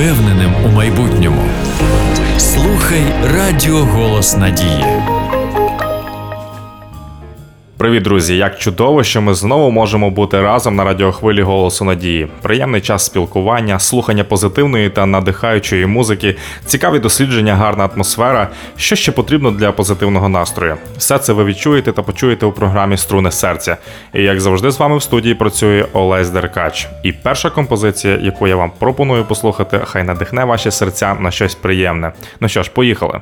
впевненим у майбутньому. Слухай Радіо Голос Надії. Привіт, друзі! Як чудово, що ми знову можемо бути разом на радіохвилі Голосу Надії. Приємний час спілкування, слухання позитивної та надихаючої музики, цікаві дослідження, гарна атмосфера. Що ще потрібно для позитивного настрою? Все це ви відчуєте та почуєте у програмі «Струни серця». І як завжди з вами в студії працює Олесь Деркач. І перша композиція, яку я вам пропоную послухати, хай надихне ваші серця на щось приємне. Ну що ж, поїхали!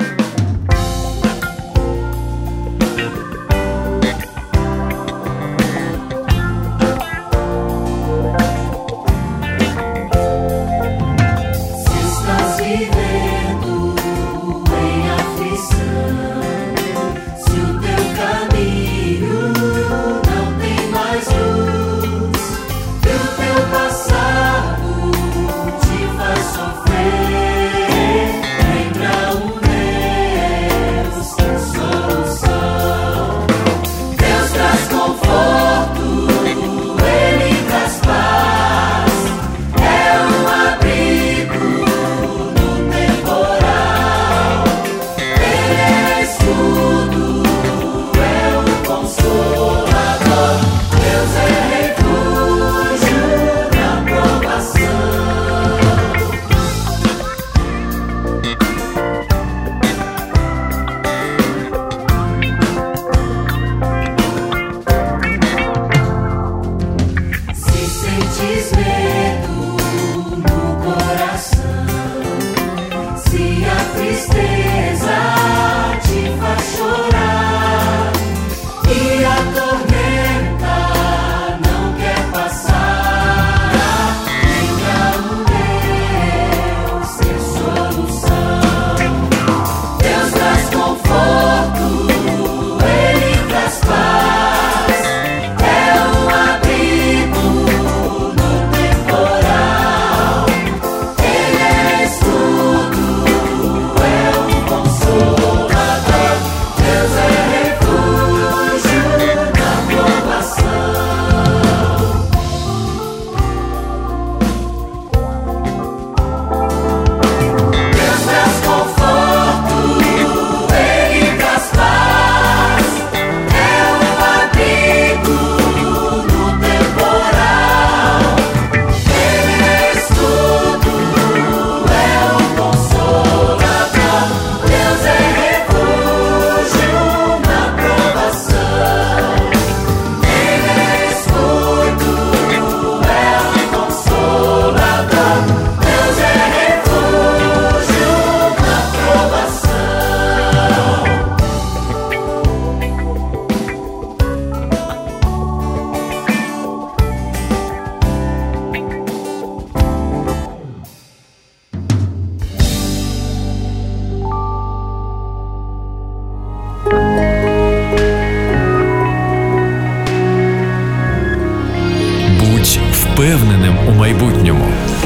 Впевненим у майбутньому.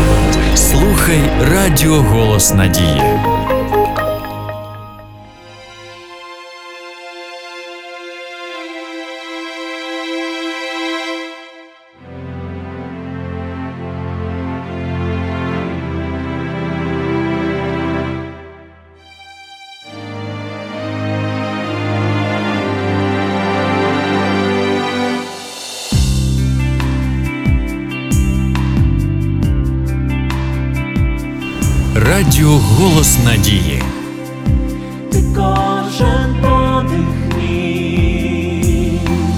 Слухай Радіо Голос Надії. Радіо Голос Надії. Ти кожен подих мій,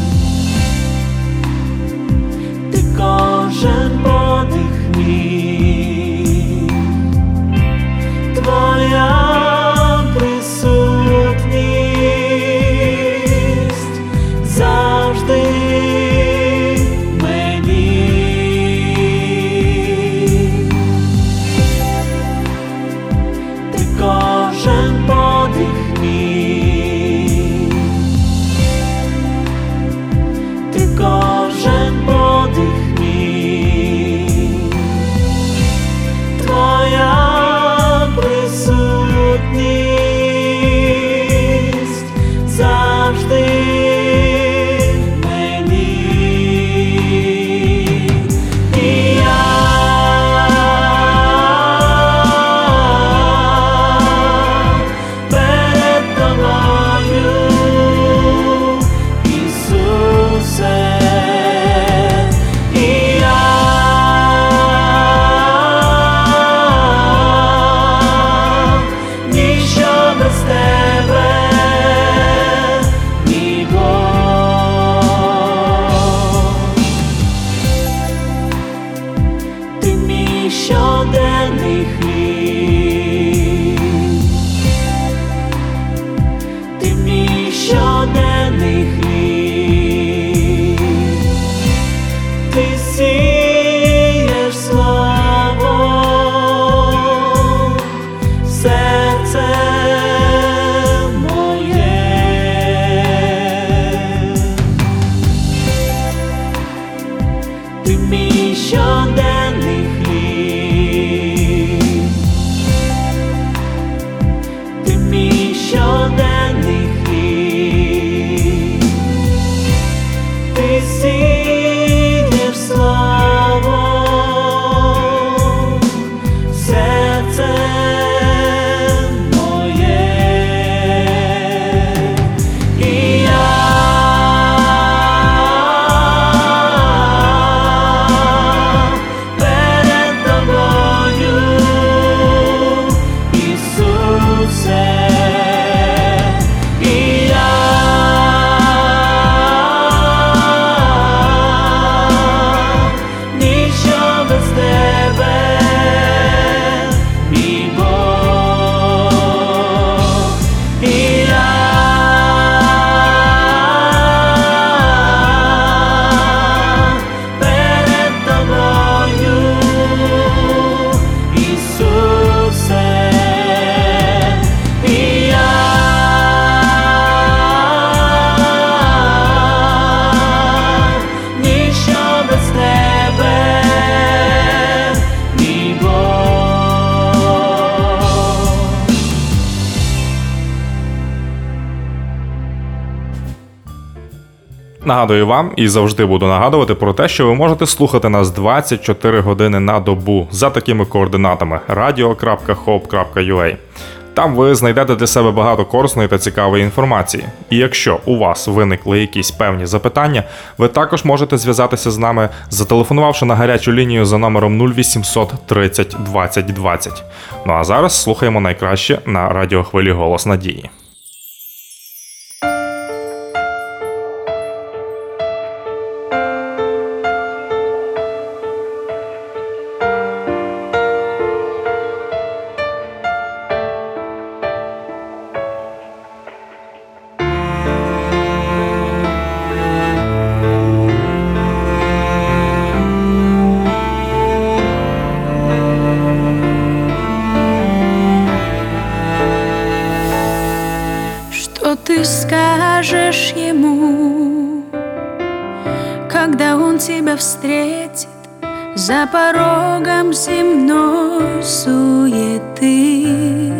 ти кожен подих мій, твоя присутність завжди мені. Ти кожен Нагадую вам і завжди буду нагадувати про те, що ви можете слухати нас 24 години на добу за такими координатами radio.hope.ua. Там ви знайдете для себе багато корисної та цікавої інформації. І якщо у вас виникли якісь певні запитання, ви також можете зв'язатися з нами, зателефонувавши на гарячу лінію за номером 0800 30 20 20. Ну а зараз слухаємо найкраще на радіохвилі «Голос надії». Ты скажешь ему, когда он тебя встретит за порогом земной суеты,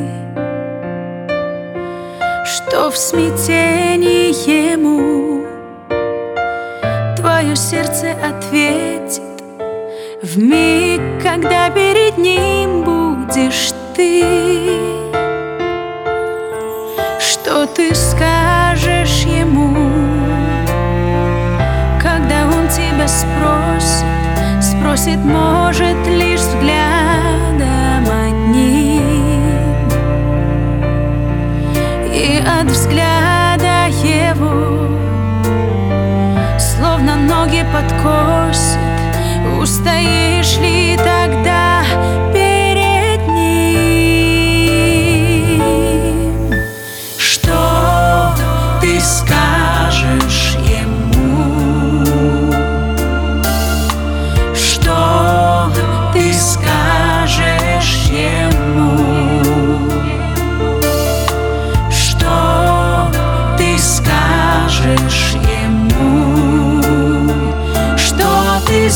что в смятении ему твое сердце ответит в миг, когда перед ним будешь ты. Что ты скажешь ему, когда он тебя спросит, может, лишь взглядом одним, и от взгляда его словно ноги подкосит, устоишь ли тогда перед ним? Что ты скажешь ему? Что ты скажешь ему? Что ты скажешь ему? Что ты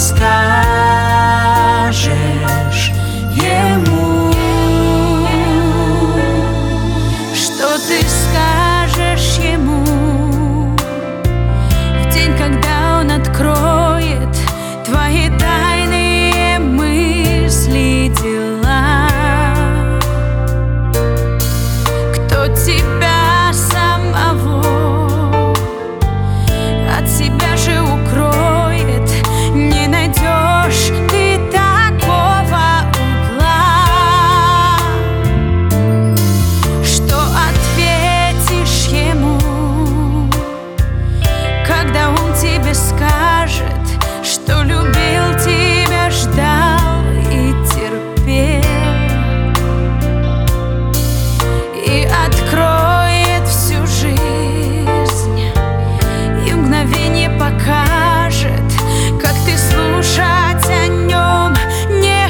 скажешь ему? Что ты скажешь ему в день, когда он откроет твои тайные мысли, дела? Кто тебя самого от себя же укроет? Не найдешь ты такого угла, что ответишь ему, когда он тебе скажет, что любил тебя, ждал и терпел, и откроет всю жизнь, и в мгновение покажет, как ты слушать о нем не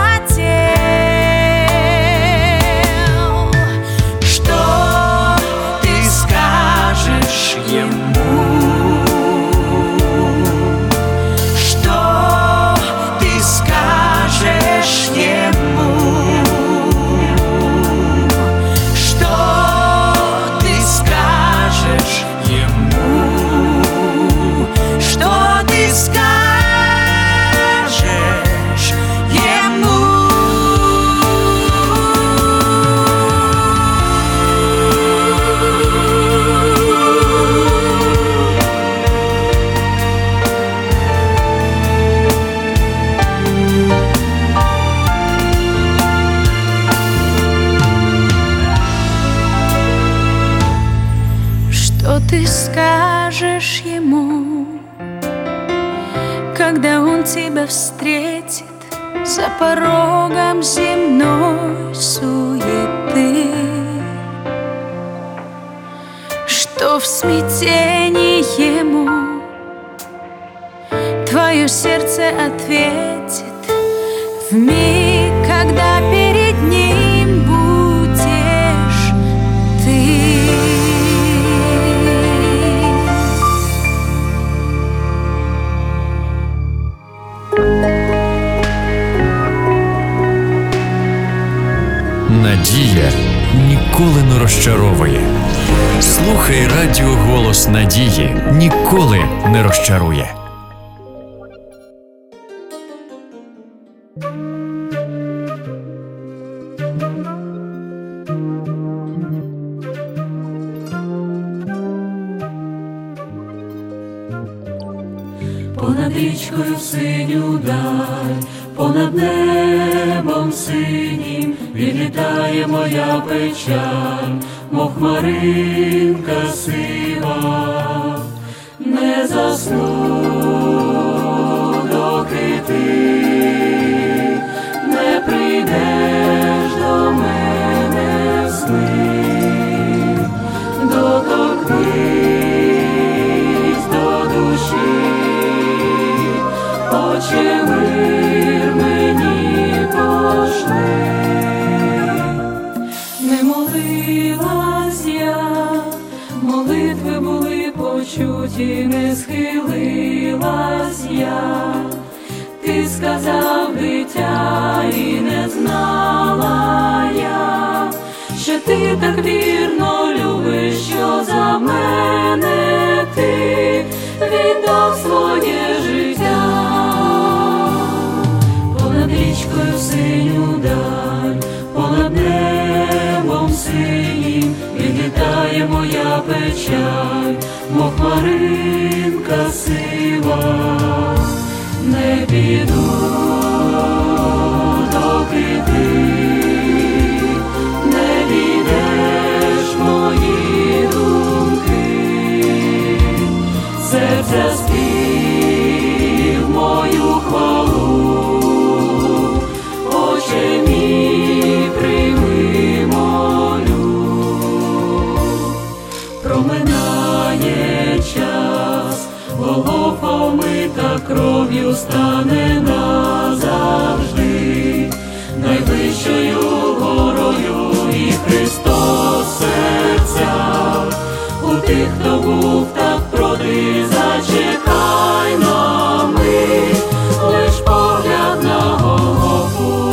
хотел. Что ты скажешь ему? Что ты скажешь ему? Что ты скажешь ему? Что ты скажешь ему? Что ты скажешь ему, когда он тебя встретит за порогом земной суеты? Что в смятении ему твое сердце ответит в миг, когда перед ним будешь ты? Надія ніколи не розчаровує. Слухай радіо «Голос надії». Ніколи не розчарує. Понад річкою синю даль, понад небом синім відлітає моя печаль, мов хмаринка сива. Не засну, доки ти не прийдеш до мене в сни, доторкнись до душі, Отче мир мені пошли. Не молилась я, молитви були почуті, не схилилась я. Ти сказав, дитя, і не знала я, що ти так вірно любиш, що за мене ти віддав своє життя. Понад річкою синю даль, понад небом синім відлітає моя печаль, мов хмаринка сива. Не піду, доки ти не війдеш в мої думки, серця спів мою хвалу, Отче мій прийми молю. Проминає час, Голгофа омита кров'ю стане назавжди найвищою горою, і Христос в серцях у тих, хто був так проти. Зачекай на мить, лиш погляд на Голгофу.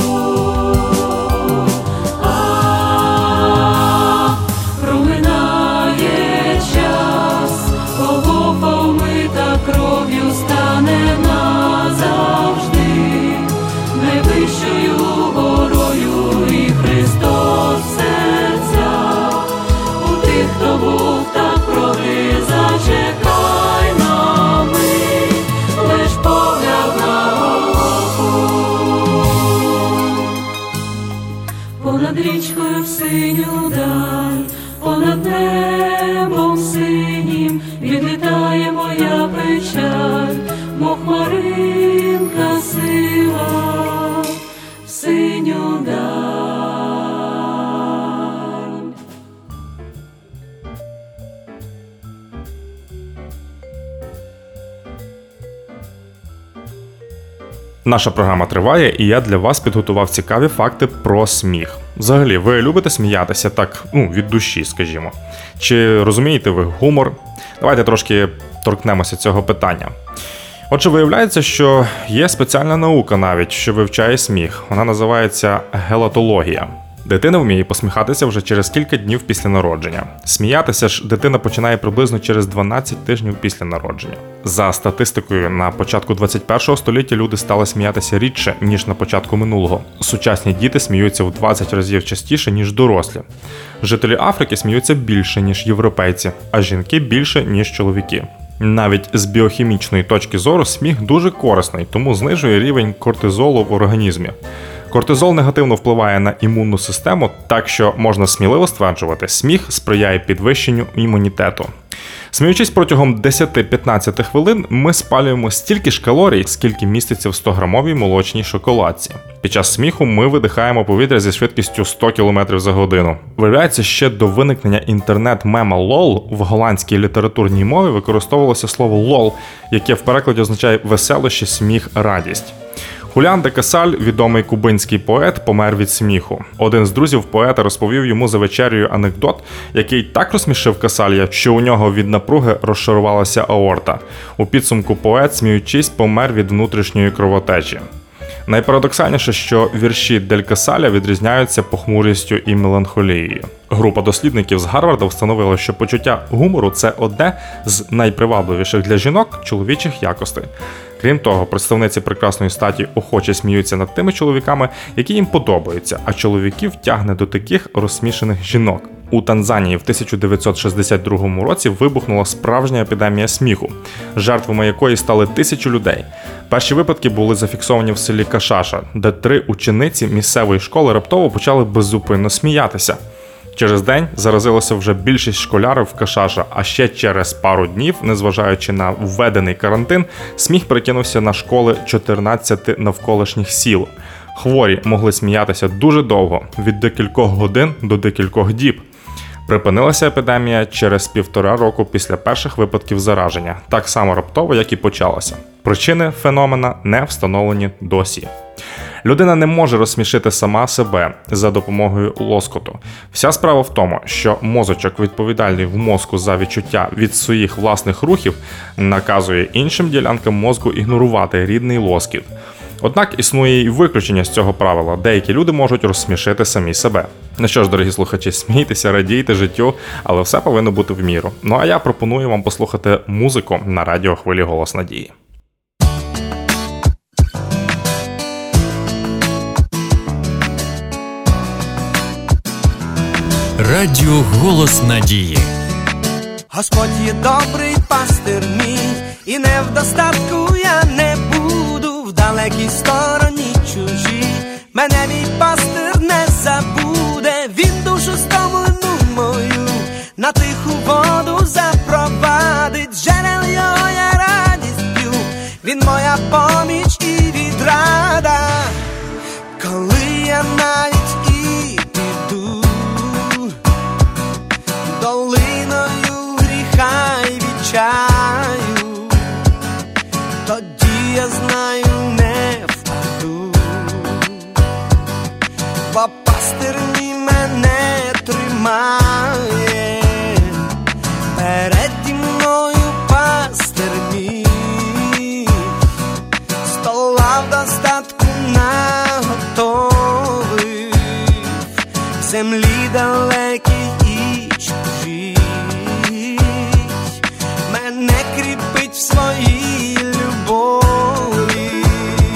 Проминає час, Голгофа омита кров'ю стане назавжди найвищою горою, і Христос в серцях у тих, хто був так проти. Зачекай на мить, лиш погляд на Голгофу. Понад річкою в синю даль, понад небом синім відлітає моя печаль, мов хмаринка сива в синю даль. Наша програма триває, і я для вас підготував цікаві факти про сміх. Взагалі, ви любите сміятися так, від душі, скажімо? Чи розумієте ви гумор? Давайте трошки торкнемося цього питання. Отже, виявляється, що є спеціальна наука навіть, що вивчає сміх. Вона називається гелатологія. Дитина вміє посміхатися вже через кілька днів після народження. Сміятися ж дитина починає приблизно через 12 тижнів після народження. За статистикою, на початку 21 століття люди стали сміятися рідше, ніж на початку минулого. Сучасні діти сміються в 20 разів частіше, ніж дорослі. Жителі Африки сміються більше, ніж європейці, а жінки більше, ніж чоловіки. Навіть з біохімічної точки зору сміх дуже корисний, тому знижує рівень кортизолу в організмі. Кортизол негативно впливає на імунну систему, так що можна сміливо стверджувати, сміх сприяє підвищенню імунітету. Сміючись протягом 10-15 хвилин, ми спалюємо стільки ж калорій, скільки міститься в 100-грамовій молочній шоколадці. Під час сміху ми видихаємо повітря зі швидкістю 100 км за годину. Виявляється, ще до виникнення інтернет-мема LOL в голландській літературній мові використовувалося слово «лол», яке в перекладі означає «веселощі, сміх, радість». Хуліан де Касаль, відомий кубинський поет, помер від сміху. Один з друзів поета розповів йому за вечерею анекдот, який так розсмішив Касаля, що у нього від напруги розшарувалася аорта. У підсумку поет, сміючись, помер від внутрішньої кровотечі. Найпарадоксальніше, що вірші Дель Касаля відрізняються похмурістю і меланхолією. Група дослідників з Гарварда встановила, що почуття гумору – це одне з найпривабливіших для жінок чоловічих якостей. Крім того, представниці прекрасної статі охоче сміються над тими чоловіками, які їм подобаються, а чоловіків тягне до таких розсмішених жінок. У Танзанії в 1962 році вибухнула справжня епідемія сміху, жертвами якої стали тисячі людей. Перші випадки були зафіксовані в селі Кашаша, де 3 учениці місцевої школи раптово почали беззупинно сміятися. Через день заразилося вже більшість школярів в Кашаша, а ще через пару днів, незважаючи на введений карантин, сміх перекинувся на школи 14 навколишніх сіл. Хворі могли сміятися дуже довго, від декількох годин до декількох діб. Припинилася епідемія через 1,5 року після перших випадків зараження, так само раптово, як і почалася. Причини феномена не встановлені досі. Людина не може розсмішити сама себе за допомогою лоскоту. Вся справа в тому, що мозочок, відповідальний в мозку за відчуття від своїх власних рухів, наказує іншим ділянкам мозку ігнорувати рідний лоскіт. Однак існує і виключення з цього правила. Деякі люди можуть розсмішити самі себе. Ну що ж, дорогі слухачі, смійтеся, радійте життю, але все повинно бути в міру. Ну а я пропоную вам послухати музику на радіохвилі «Голос надії». Радіо «Голос надії». Господь є добрий пастир мій, і не в достатку я не буду, в далекій стороні чужій. Мене мій пастир не забуде, він душу стомлену мою на тиху воду запровадить. Джерел його я радість п'ю, він моя поміч і відрада. Коли я навіть і піду долиною гріха й відчаю, тоді я знаю, не впаду, бо пастир мій мене тримає, переді мною пастир мій, стола в достатку наготовив, в землі далекій і чужій, мене кріпить в своїй любові.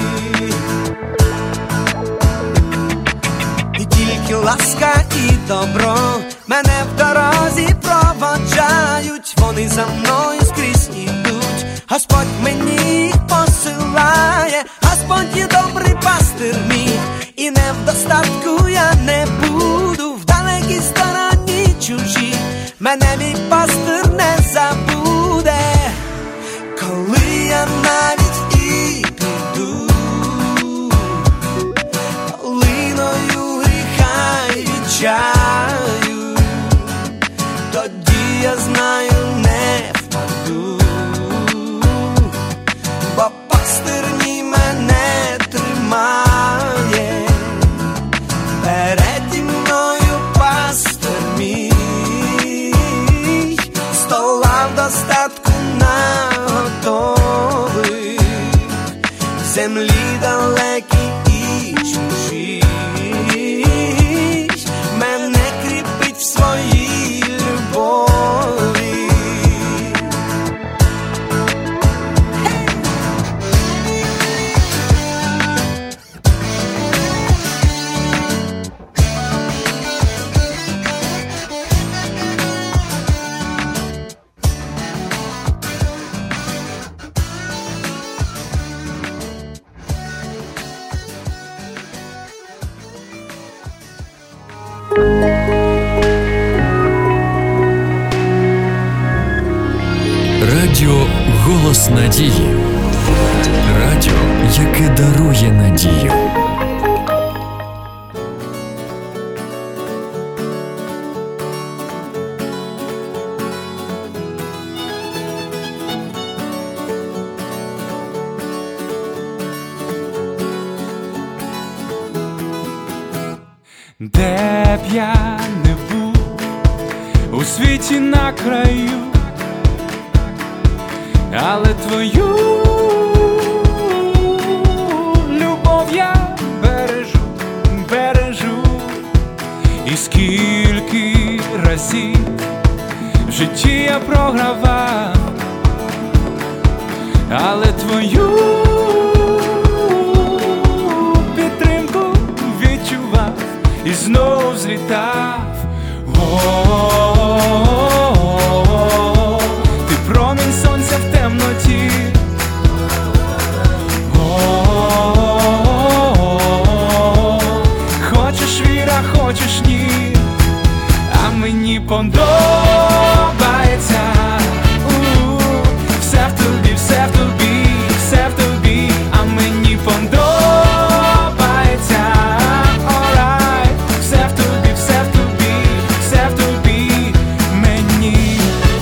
І тільки ласка і добро мене в дорозі проводжають, вони за мною скрізь ідуть, Господь мені їх посилає. Господь є добрий пастир мій, і не в достатку я не буду, в далекій стороні чужій, мене мій пастир не забуде. Коли я навіть і піду долиною гріха й відчаю, тоді я знаю, не впаду, бо пастир мій мене тримає, переді мною пастир мій, стола в достатку наготовив, в землі далекій і чужій, мене кріпить в своїй любові. Радіо «Голос надії». Радіо, яке дарує надію. Де б я не був у світі на краю, але твою любов я бережу, і скільки разів в житті я програвав, але твою підтримку відчував і знов злітав. Ти промінь сонця в темноті. Хочеш віра, хочеш ні, а мені подобається. Все в тобі, все в тобі, все в тобі, а мені подобається. Alright, все в тобі, все в тобі, все в тобі, мені.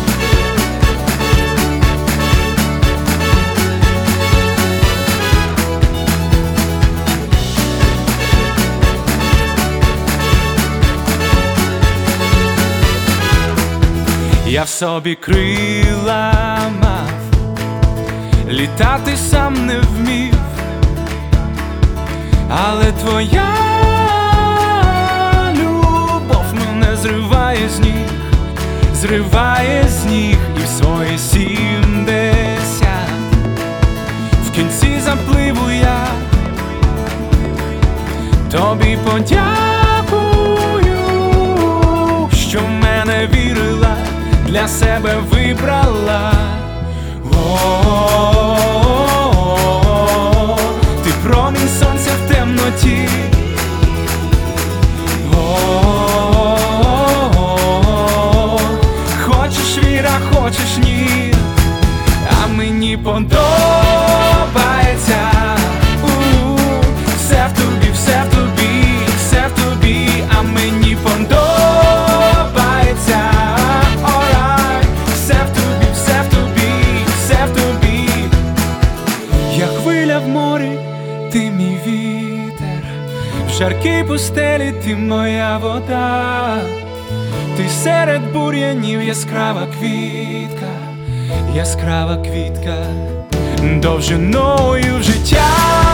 Я в собі крила мав, літати сам не вмів, але твоя любов мене зриває з ніг, зриває з ніг. І в свої 70 в кінці запливу я тобі подякую, що в мене вірила, для себе вибрала. Ти промінь сонця в темноті. Хочеш віра, хочеш ні, а мені подобається. Все в тобі, все в тобі, все в тобі, а мені подобається. В морі ти мій вітер, в жаркій пустелі ти моя вода, ти серед бур'янів яскрава квітка, довжиною в життя.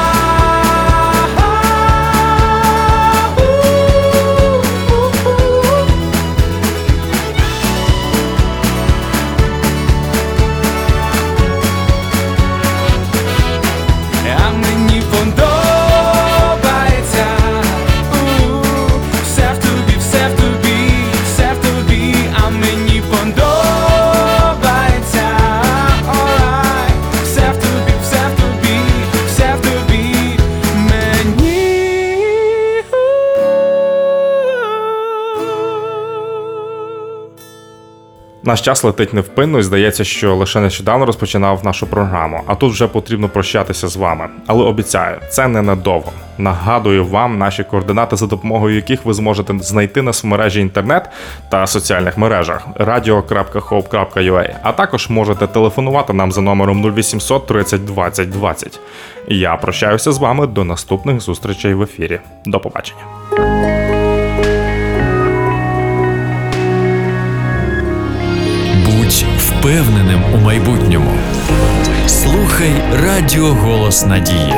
Наш час летить невпинно і здається, що лише нещодавно розпочинав нашу програму, а тут вже потрібно прощатися з вами. Але обіцяю, це ненадовго. Нагадую вам наші координати, за допомогою яких ви зможете знайти нас в мережі інтернет та соціальних мережах radio.hope.ua, а також можете телефонувати нам за номером 0800 30 20 20. Я прощаюся з вами до наступних зустрічей в ефірі. До побачення. Будь впевненим у майбутньому. Слухай Радіо Голос Надії.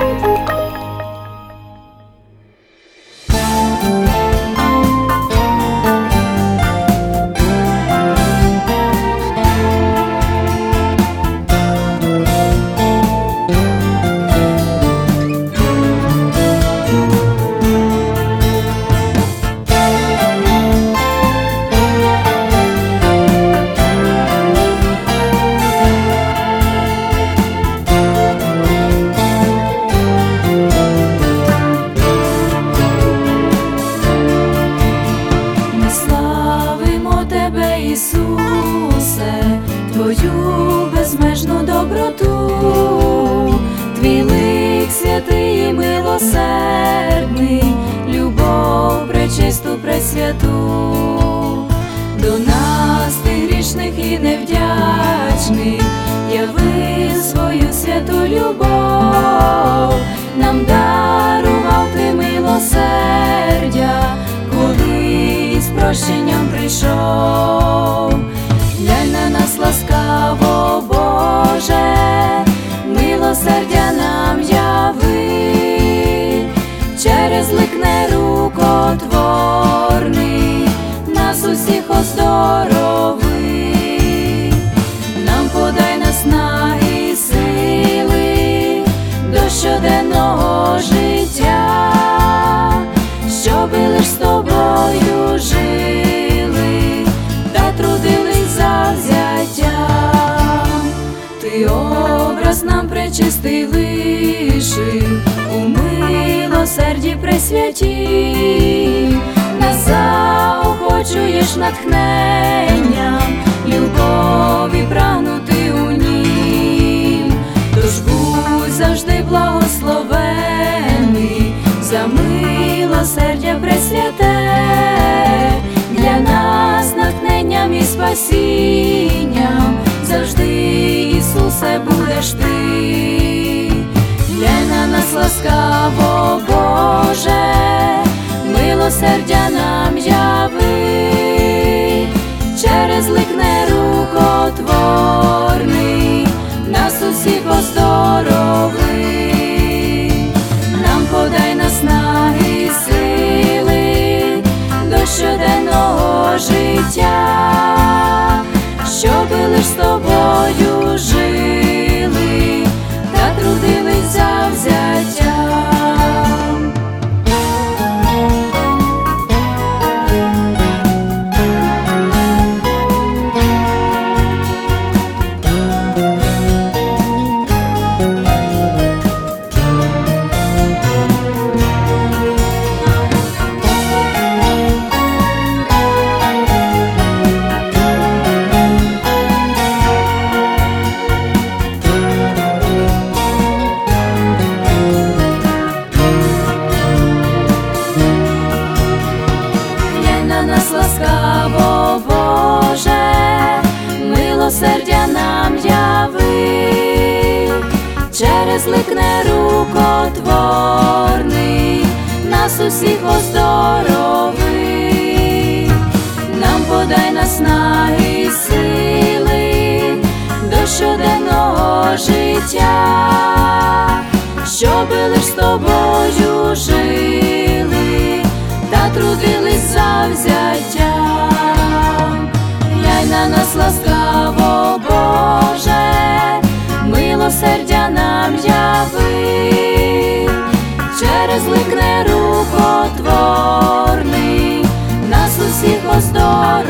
Милосердний, любов пречисту, пресвяту, до нас ти грішних і невдячних, яви свою святу любов, нам дарував ти милосердя, коли з прощенням прийшов. Глянь на нас ласкаво, Боже, милосердя нам яви, через лик нерукотворний нас усіх образ нам пречистий лишив, у милосерді пресвяті, нас заохочуєш натхненням, любові прагнути у нім. Тож будь завжди благословений за милосердя пресвяте, для нас натхненням і спасінням завжди, Ісусе, будеш ти. Глянь на нас ласкаво, Боже, милосердя нам яви, через лик нерукотворний нас усіх оздорови. Нам подай наснаги сили до щоденного життя, щоби лиш з тобою жили та трудились завзяттям. Ласкаво, Боже, милосердя нам яви, через лик нерукотворний нас усіх оздорови. Нам подай наснаги сили до щоденного життя, щоби лиш з тобою жили та трудились завзяттям. Глянь на нас ласкаво, Боже, милосердя нам яви, через лик нерукотворний нас усіх оздоровив.